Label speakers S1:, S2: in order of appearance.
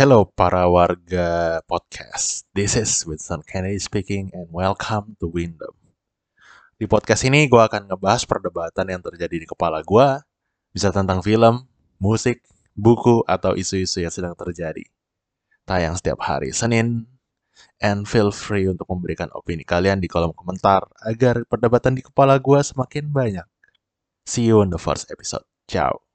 S1: Hello para warga podcast. This is Winston Kennedy speaking and welcome to Windom. Di podcast ini gue akan ngebahas perdebatan yang terjadi di kepala gue, bisa tentang film, musik, buku, atau isu-isu yang sedang terjadi. Tayang setiap hari Senin, and feel free untuk memberikan opini kalian di kolom komentar agar perdebatan di kepala gue semakin banyak. See you in the first episode. Ciao.